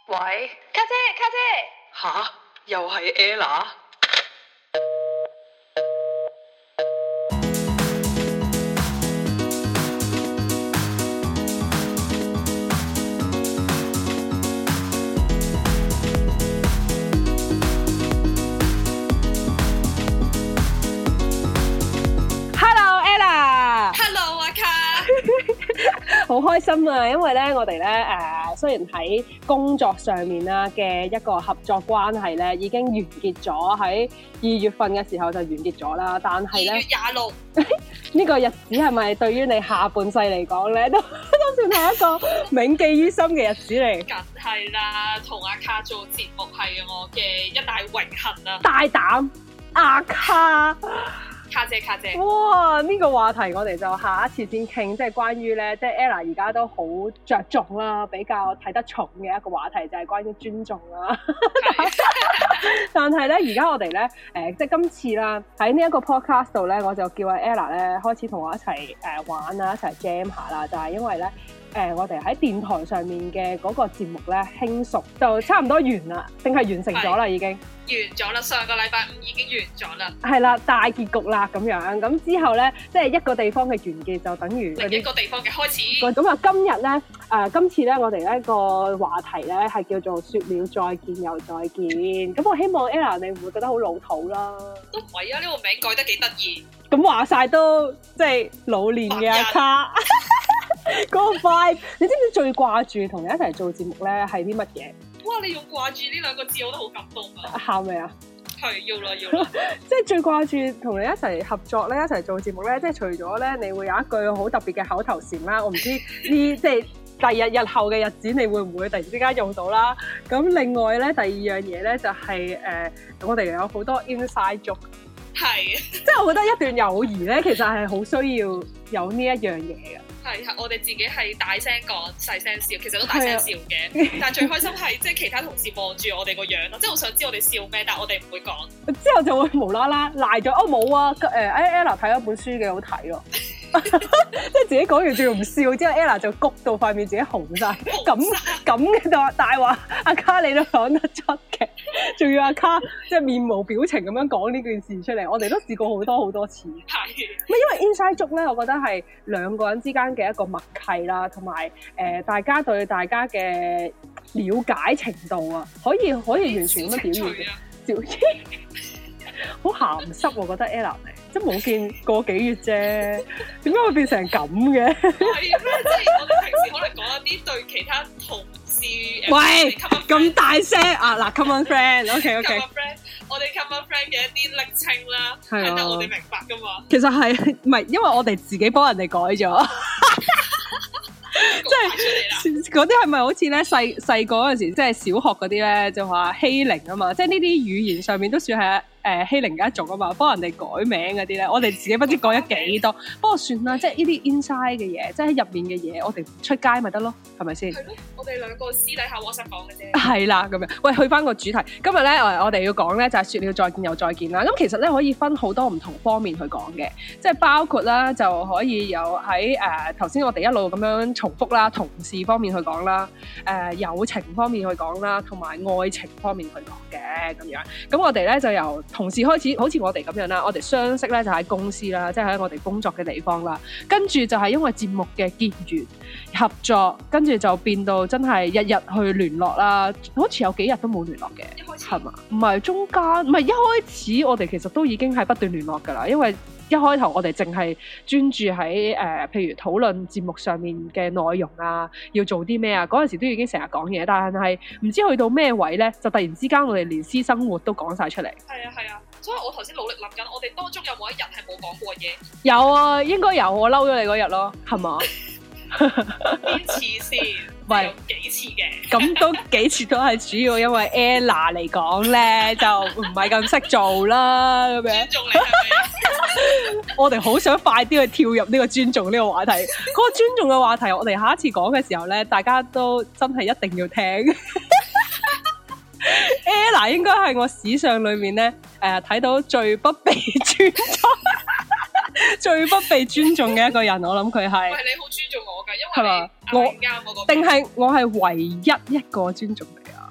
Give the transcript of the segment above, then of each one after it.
喂，家姐。吓，又係 Ella？ 好開心啊！因為咧，我哋咧雖然喺工作上面啦嘅一個合作關係咧已經完結咗，喺2月份嘅時候就完結咗啦。但係咧，2月26呢個日子係咪對於你下半世嚟講咧，都算係一個銘記於心嘅日子嚟？ 梗係啦，同阿卡做節目係我嘅一大榮幸啊！ 大膽阿卡。 卡姐， 哇！呢個話題我哋就下一次先傾，即係關於咧，即係 Ella 而家都好着重啦，比較睇得重嘅一個話題就係關於尊重啦。但係咧，而家我哋咧，即係今次啦，喺呢一個 podcast 度咧，我就叫阿 Ella 咧開始同我一齊玩啦，一齊 jam 下啦，就係因為咧。我哋喺電台上面嘅嗰個節目咧，輕熟就差唔多完啦，定係完成咗啦已經？ 完咗啦，上個禮拜5已經完咗啦。係啦，大結局啦咁樣。咁之後咧，即係一個地方嘅完結，就等於另一個地方嘅開始。 咁啊，今日咧，今次咧，我哋呢個話題咧係叫做說了再見又再見。咁我希望 Ella 你唔會覺得好老土啦。 都唔係啊，呢個名改得幾得意。 咁話晒都即係老年嘅阿卡。嗰個 vibe， 你知唔知最掛住同你一齊做節目咧係啲乜嘢？ 哇！你用掛住呢2個字，我都好感動啊！ 喊未啊？ 係要啦。 即係最掛住同你一齊合作咧，一齊做節目咧，即係除咗咧，你會有一句好特別嘅口頭禪啦。我唔知呢，即係日後嘅日子，你會唔會突然之間用到啦？咁另外咧，第二樣嘢咧就係我哋有好多 inside joke。係，即係我覺得一段友誼咧，其實係好需要有呢一樣嘢嘅。 係，我哋自己係大聲講、細聲笑，其實都大聲笑嘅。但係最開心係即係其他同事望住我哋個樣咯，即係我想知我哋笑咩，但係我哋唔會講。之後就會無啦啦賴咗， 冇啊，Ella 睇咗本書幾好睇咯。即係自己講完仲要唔笑，之後 Ella 就谷到塊面自己紅晒，咁嘅大話，阿卡你都講得出嘅，仲要阿卡即係面無表情咁樣講呢件事出嚟，我哋都試過好多次。係，因為 inside joke 咧，我覺得係2個人之間嘅一個默契啦，同埋大家對大家嘅了解程度啊，可以完全咁樣表現嘅。好鹹濕，我覺得 Ella 嚟，即係冇見過幾月啫，點解會變成咁嘅？ 係咩？即係我哋平時可能講一啲對其他同事， 喂，咁大聲啊！嗱 ，common friend，OK， 我哋 common friend 嘅一啲昵稱啦，係得我哋明白噶嘛？ 其實係唔係？因為我哋自己幫人哋改咗。即係嗰啲係咪好似咧細個嗰陣時，即係小學嗰啲咧就話欺凌啊嘛？即係呢啲語言上面都算係欺凌嘅一種啊嘛，幫人哋改名嗰啲咧，我哋自己不知改咗幾多。不過算啦，即係呢啲 inside 嘅嘢，即係喺入面嘅嘢，我哋出街咪得咯，係咪先？係咯， 我哋2個私底下 WhatsApp 講嘅啫。 係啦，咁樣。喂，去翻個主題，今日咧我哋要講咧就係說了再見又再見啦。咁其實咧可以分好多唔同方面去講嘅，即係包括啦就可以有喺頭先我哋一路咁樣重複啦，同事方面去講啦，友情方面去講啦，同埋愛情方面去講嘅咁樣。咁我哋咧就由同事開始，好似我哋咁樣啦，我哋相識咧就喺公司啦，即係喺我哋工作嘅地方啦。跟住就係因為節目嘅結緣合作，跟住就變到真係日日去聯絡啦。好似有幾日都冇聯絡嘅， 一開始係嘛？唔係中間，唔係一開始，我哋其實都已經係不斷聯絡噶啦，因為一開頭我哋淨係專注喺譬如討論節目上面嘅內容啊，要做啲咩啊，嗰陣時都已經成日講嘢，但係唔知去到咩位咧，就突然之間我哋連私生活都講晒出嚟。 係啊，所以我頭先努力諗緊，我哋當中有冇一日係冇講過嘢？ 有啊，應該有，我嬲咗你嗰日咯，係嘛？ 邊次先？喂，有幾次嘅？ 咁都幾次都係主要因為 Ella 嚟講咧，就唔係咁識做啦，咁樣。尊重你係咪？我哋好想快啲去跳入呢個尊重呢個話題。嗰個尊重嘅話題，我哋下一次講嘅時候咧，大家都真係一定要聽。Ella 應該係我史上裏面咧，睇到最不被尊重。最不被尊重嘅一個人，我諗佢係。 喂，你好尊重我㗎，因為你啱我個。 定係我係唯一一個尊重你啊？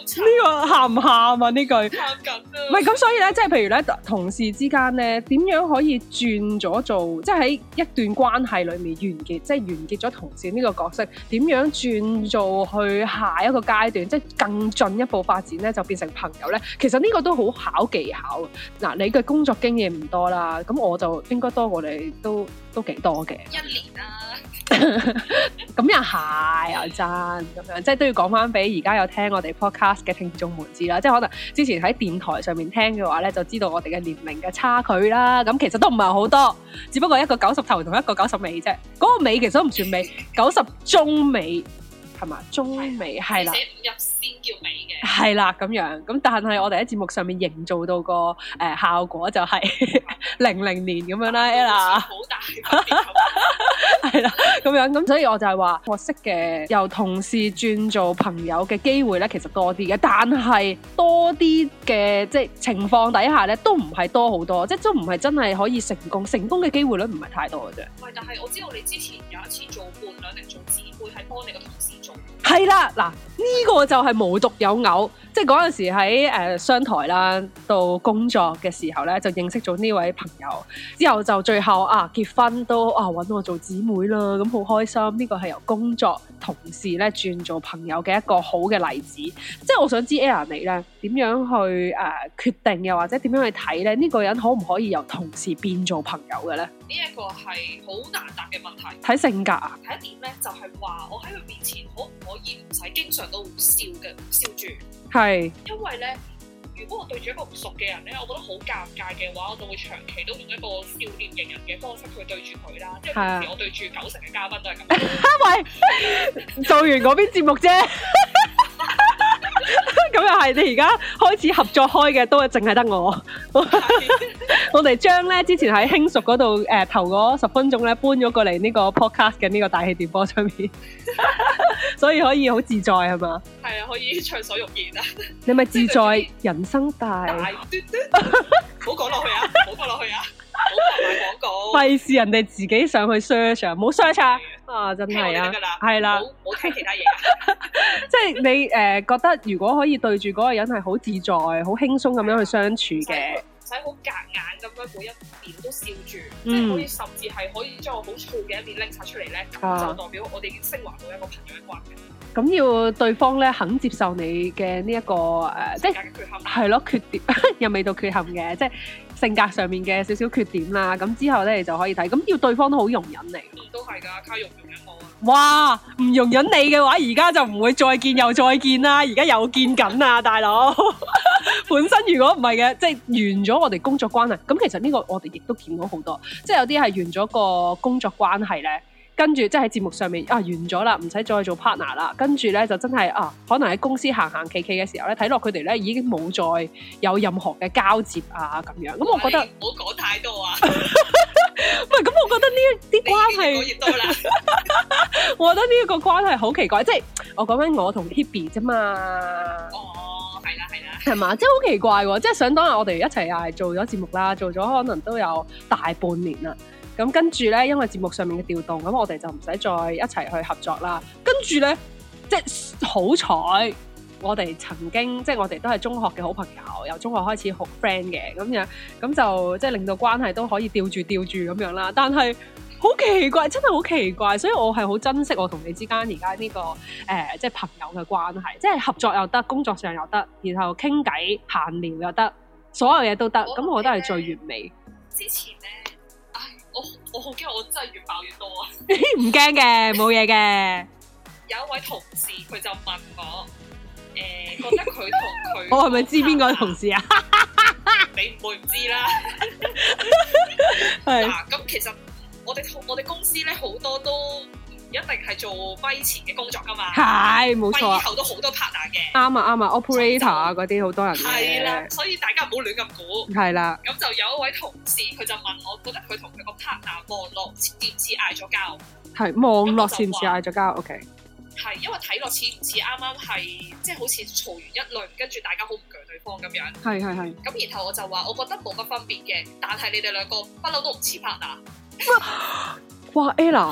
慘。 呢個喊唔喊啊？呢句喊緊啊！ 唔係咁，所以咧，即係譬如咧，同事之間咧，點樣可以轉咗做，即係喺一段關係裏面完結，即係完結咗同事呢個角色，點樣轉做去下一個階段，即係更進一步發展咧，就變成朋友咧。其實呢個都好考技巧。嗱，你嘅工作經驗唔多啦，咁我就應該多過你都幾多嘅。 1年啦。 咁又係又真咁樣，即係都要講翻俾而家有聽我哋 podcast 嘅聽眾們知啦。即係可能之前喺電台上面聽嘅話咧，就知道我哋嘅年齡嘅差距啦。咁其實都唔係好多，只不過一個90頭同一個90尾啫。嗰個尾其實都唔算尾，90中尾係嘛？中尾係啦。 入先叫尾嘅。 係啦，咁樣咁，但係我哋喺節目上面營造到個效果就係00年咁樣啦，Ella。好大分別。係啦，咁樣咁，所以我就係話，我識嘅由同事轉做朋友嘅機會咧，其實多啲嘅，但係多啲嘅即係情況底下咧，都唔係多好多，即係都唔係真係可以成功嘅機會率唔係太多嘅啫。 喂，但係我知道你之前有一次做伴娘定做姊妹，係幫你個同事做。 係啦，嗱呢個就係無獨有偶，即係嗰陣時喺商台啦，到工作嘅時候咧，就認識咗呢位朋友，之後就最後結婚都揾我做姊妹啦，咁好開心。呢個係由工作同事咧轉做朋友嘅一個好嘅例子。即係我想知 Ella 你咧點樣去決定，又或者點樣去睇咧呢個人可唔可以由同事變做朋友嘅咧？ 呢一個係好難答嘅問題。 睇性格啊？ 睇一點咧，就係話我喺佢面前可唔可以唔使經常都笑住？係。因為咧，如果我對住一個唔熟嘅人咧，我覺得好尷尬嘅話，我就會長期都用一個笑臉迎人嘅方式去對住佢啦。即係平時我對住90%嘅嘉賓都係咁。喂，做完嗰邊節目啫。 咁又係，你而家開始合作開嘅都係淨係得我。我哋將咧之前喺輕熟嗰度頭嗰10分鐘咧搬咗過嚟呢個 podcast 嘅呢個大氣電波上面，所以可以好自在係嘛？ 係啊，可以暢所欲言啊！ 你咪自在人生大端端，唔好講落去啊！唔好講落去啊！唔好賣廣告， 費事人哋自己上去 search 啊！唔好 search 啊！真係啊，係啦， 冇聽其他嘢啊！ 即係你覺得如果可以對住嗰個人係好自在、好輕鬆咁樣去相處嘅， 唔使好夾硬咁樣每一面都笑住，即係可以甚至係可以將我好燥嘅一面拎晒出嚟咧，咁就代表我哋已經升華到一個朋友嘅關係。咁要對方咧肯接受你嘅呢一個即係係咯缺點，又未到缺陷嘅，即係性格上面嘅少少缺點啦。咁之後咧你就可以睇，咁要對方都好容忍你。 都係㗎，靠容忍我啊！ 哇，唔容忍你嘅話，而家就唔會再見又再見啦。而家又見緊啊，大佬！本身如果唔係嘅，即係完咗我哋工作關係，咁其實呢個我哋亦都見到好多，即係有啲係完咗個工作關係咧。跟住即係喺節目上面完咗啦，唔使再做 partner 啦。跟住咧就真係可能喺公司行行企企嘅時候咧，睇落佢哋咧已經冇再有任何嘅交接啊咁樣。咁我覺得唔好講太多啊。 唔係咁，我覺得呢啲關係越多啦。 我覺得呢一個關係好奇怪，即係我講緊我同 Hebe 啫嘛。 哦，係啦， 係嘛，即係好奇怪喎！即係想當日我哋一齊又係做咗節目啦，做咗可能都有大半年啦。咁跟住咧，因為節目上面嘅調動，咁我哋就唔使再一齊去合作啦。跟住咧，即係好彩，我哋曾經即係我哋都係中學嘅好朋友，由中學開始好 friend 嘅咁樣，咁就即係令到關係都可以吊住咁樣啦。但係好奇怪，真係好奇怪，所以我係好珍惜我同你之間而家呢個即係朋友嘅關係，即係合作又得，工作上又得，然後傾偈閒聊又得，所有嘢都得。咁我覺得係最完美。 之前咧。我好驚，我真係越爆越多啊！ 唔驚嘅，冇嘢嘅。 有一位同事，佢就問我，覺得佢同佢， 我係咪知邊個同事啊？ 你唔會唔知啦。 係嗱，咁其實我哋公司咧好多都唔一定係做咪前嘅工作噶嘛。係，冇錯。咪後都好多 partner 嘅。啱啊，operator 啊嗰啲好多人嘅。係啦，所以大家唔好亂咁估。係啦。咁就有一位同事，佢就問我，覺得佢同佢個 partner 網絡似唔似嗌咗交？係網絡似唔似嗌咗交 ？OK。係，因為睇落似唔似啱啱係，即係好似嘈完一輪，跟住大家好唔鋸對方咁樣。係。咁然後我就話，我覺得冇乜分別嘅，但係你哋兩個不嬲都唔似 partner。哇 ，Ella，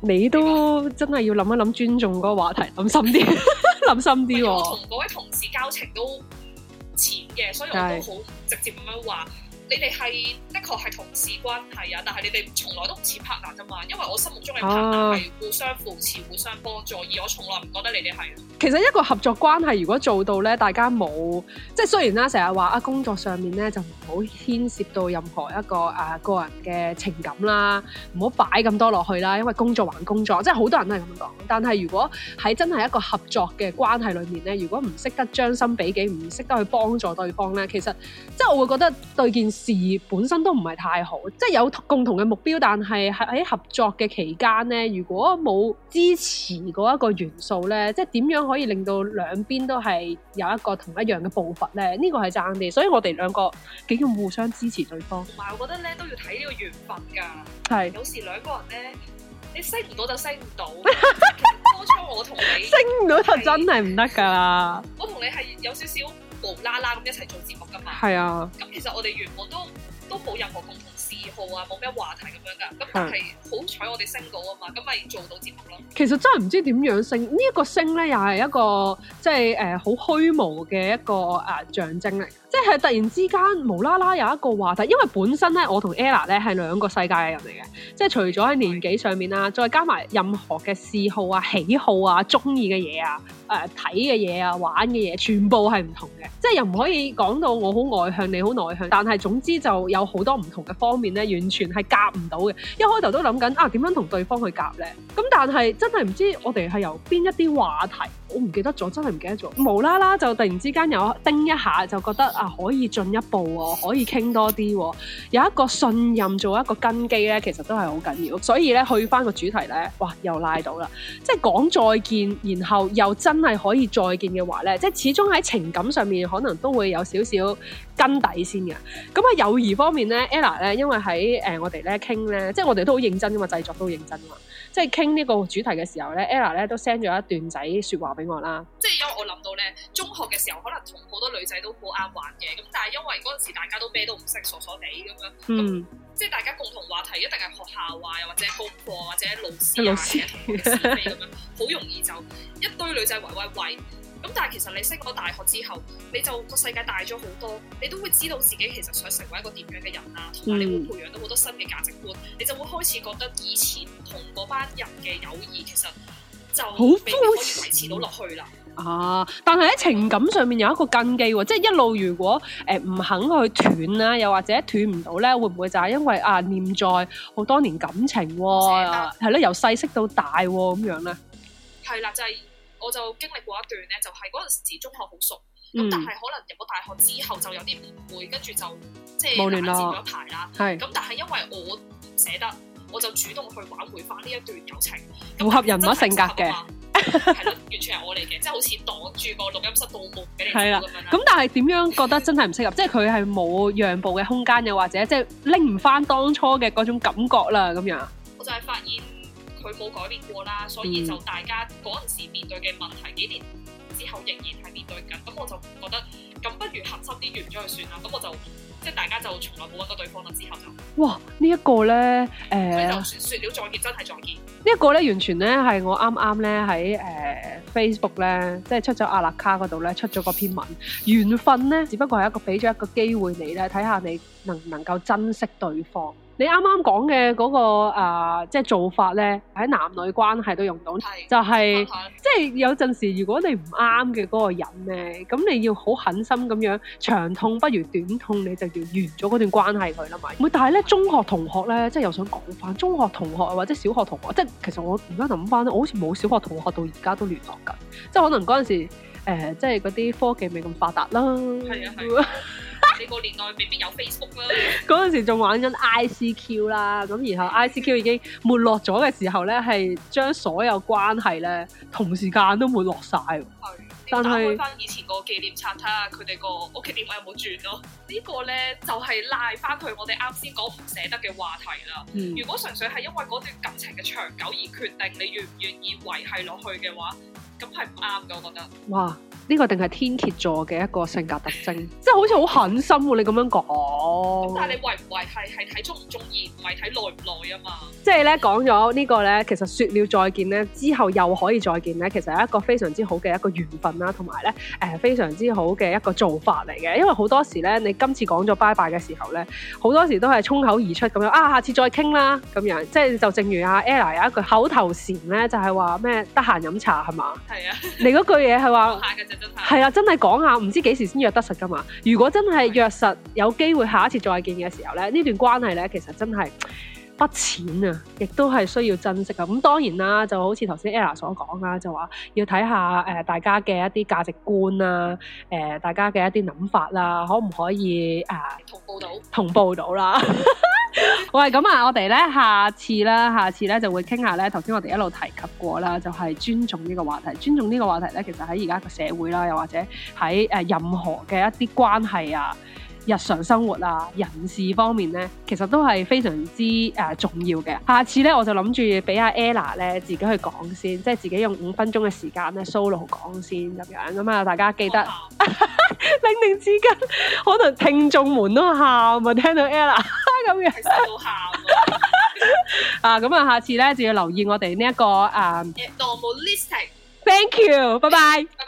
你都真係要諗一諗尊重嗰個話題，諗深啲，諗深啲。 我同嗰位同事交情都唔淺嘅，所以我都好直接咁樣話。你哋係的確係同事關係啊，但係你哋從來都唔似 partner 啫嘛，因為我心目中嘅 partner 係互相扶持、互相幫助，而我從來唔覺得你哋係。 其實一個合作關係如果做到咧，大家冇即係雖然啦，成日話啊工作上面咧就唔好牽涉到任何一個個人嘅情感啦，唔好擺咁多落去啦，因為工作還工作，即係好多人都係咁樣講。但係如果喺真係一個合作嘅關係裏面咧，如果唔識得將心比己，唔識得去幫助對方咧，其實即係我會覺得對件事本身都唔係太好，即係有共同嘅目標，但係喺合作嘅期間咧，如果冇支持嗰一個元素咧，即係點樣可以令到兩邊都係有一個同一樣嘅步伐咧？呢個係爭啲，所以我哋兩個幾咁互相支持對方。同埋我覺得咧都要睇呢個緣分㗎， 係有時兩個人咧，你升唔到就升唔到。當初我同你升唔到就真係唔得㗎啦。 我同你係有少少無啦啦咁一齊做節目㗎嘛。 係啊。 咁其實我哋原本都冇任何共同嗜好啊，冇咩話題咁樣噶。咁但係好彩我哋升到啊嘛，咁咪做到節目咯。 其實真係唔知點樣升，呢一個升咧又係一個即係好虛無嘅一個象徵嚟。即係突然之間無啦啦有一個話題，因為本身咧我同 Ella 咧係兩個世界嘅人嚟嘅，即係除咗喺年紀上面啦，再加埋任何嘅嗜好啊、喜好啊、中意嘅嘢啊、睇嘅嘢啊、玩嘅嘢，全部係唔同嘅。即係又唔可以講到我好外向，你好內向，但係總之就有好多唔同嘅方面咧，完全係夾唔到嘅。一開頭都諗緊點樣同對方去夾咧，咁但係真係唔知我哋係由邊一啲話題，我唔記得咗，真係唔記得咗，無啦啦就突然之間有叮一下，就覺得可以進一步喎，可以傾多啲喎，有一個信任做一個根基咧，其實都係好緊要。所以咧去翻個主題咧，哇又拉到啦，即係講再見，然後又真係可以再見嘅話咧，即係始終喺情感上面可能都會有少少根底先嘅。咁喺友誼方面咧 ，Ella 咧因為喺我哋咧傾咧，即係我哋都好認真噶嘛，製作都好認真噶嘛。即係傾呢個主題嘅時候咧 ，Ella 咧都 send 咗一段仔説話俾我啦。 即係因為我諗到咧，中學嘅時候可能同好多女仔都好啱玩嘅，咁但係因為嗰陣時大家都咩都唔識，傻傻地咁樣，咁即係大家共同話題一定係學校啊，又或者功課或者老師啊嘅同學是非咁樣，好容易就一堆女仔圍圍圍。咁但係其實你升咗大學之後，你就個世界大咗好多，你都會知道自己其實想成為一個點樣嘅人啦，同埋你會培養到好多新嘅價值觀，你就會開始覺得以前同嗰班人嘅友誼其實就未必可以維持到落去啦。 但係喺情感上面有一個根基喎，即係一路如果唔肯去斷啦，又或者斷唔到咧，會唔會就係因為念在好多年感情喎，係咯，由細識到大喎咁樣咧？係啦，就係。我就經歷過一段咧，就係嗰陣時中學好熟，咁但係可能入咗大學之後就有啲誤會，跟住就即係冷戰咗一排啦。咁但係因為我唔捨得，我就主動去挽回翻呢一段友情。 符合人物性格嘅， 係咯，完全係我嚟嘅，即係好似擋住個錄音室盜夢俾你咁樣啦。 咁但係點樣覺得真係唔適合？即係佢係冇讓步嘅空間，又或者即係拎唔翻當初嘅嗰種感覺啦，咁樣。 我就係發現佢冇改變過啦，所以就大家嗰陣時面對嘅問題，幾年之後仍然係面對緊。咁我就覺得，咁不如核心啲完咗佢算啦。咁我就即係大家就從來冇揾過對方啦。之後就哇，呢一個咧所以就説了再見，真係再見。 呢一個咧完全咧係我啱啱咧喺Facebook 咧，即係出咗阿勒卡嗰度咧出咗個篇文。緣分咧，只不過係一個俾咗一個機會你咧，睇下你能唔能夠珍惜對方。你啱啱講嘅嗰個即係做法咧，喺男女關係都用到，就係即係有陣時，如果你唔啱嘅嗰個人咧，咁你要好狠心咁樣，長痛不如短痛，你就要完咗嗰段關係佢啦嘛。唔係，但係咧中學同學咧，即係又想講翻中學同學或者小學同學，即係其實我而家諗翻咧，我好似冇小學同學到而家都聯絡緊，即係可能嗰陣時即係嗰啲科技未咁發達啦。係啊。你個年代未必有 Facebook 啦，嗰陣時仲玩緊 ICQ 啦，咁然後 ICQ 已經沒落咗嘅時候咧，係將所有關係咧同時間都沒落晒。係，但係打開翻以前個紀念冊睇下佢哋個屋企電話有冇轉咯。呢個咧就係賴翻佢我哋啱先講唔捨得嘅話題啦。如果純粹係因為嗰段感情嘅長久而決定你願唔願意維繫落去嘅話，咁係唔啱嘅，我覺得。哇！呢個定係天蠍座嘅一個性格特徵，即係好似好狠心喎！你咁樣講， 講。 但係你維唔維係睇中唔中意，唔係睇耐唔耐啊嘛。 即係咧講咗呢個咧，其實説了再見咧，之後又可以再見咧，其實係一個非常之好嘅一個緣分啦，同埋咧非常之好嘅一個做法嚟嘅。因為好多時咧，你今次講咗拜拜嘅時候咧，好多時都係衝口而出咁樣啊，下次再傾啦咁樣。即係就正如阿 Ella 有一句口頭禪咧，就係話咩得閒飲茶係嘛？係啊。你嗰句嘢係話講下嘅啫，真係。係啊，真係講下，唔知幾時先約得實㗎嘛？如果真係約實，有機會下一次再見嘅時候咧，呢段關係咧，其實真係不淺啊，亦都係需要珍惜啊。咁當然啦，就好似頭先 Ella 所講啦，就話要睇下大家嘅一啲價值觀啊，大家嘅一啲諗法啦，可唔可以同步到啦？喂，咁啊，我哋咧下次咧就會傾下咧，頭先我哋一路提及過啦，就係尊重呢個話題。尊重呢個話題咧，其實喺而家個社會啦，又或者喺任何嘅一啲關係啊、日常生活啊、人事方面咧，其實都係非常之重要嘅。下次咧，我就諗住俾阿 Ella 咧自己去講先，即係自己用5分鐘嘅時間咧 solo 講先咁樣。咁啊，大家記得拎定紙巾，可能聽眾們都喊啊，聽到 Ella 咁樣， 其實都喊啊！咁啊，下次咧就要留意我哋呢一個normalistic。Thank you，拜拜。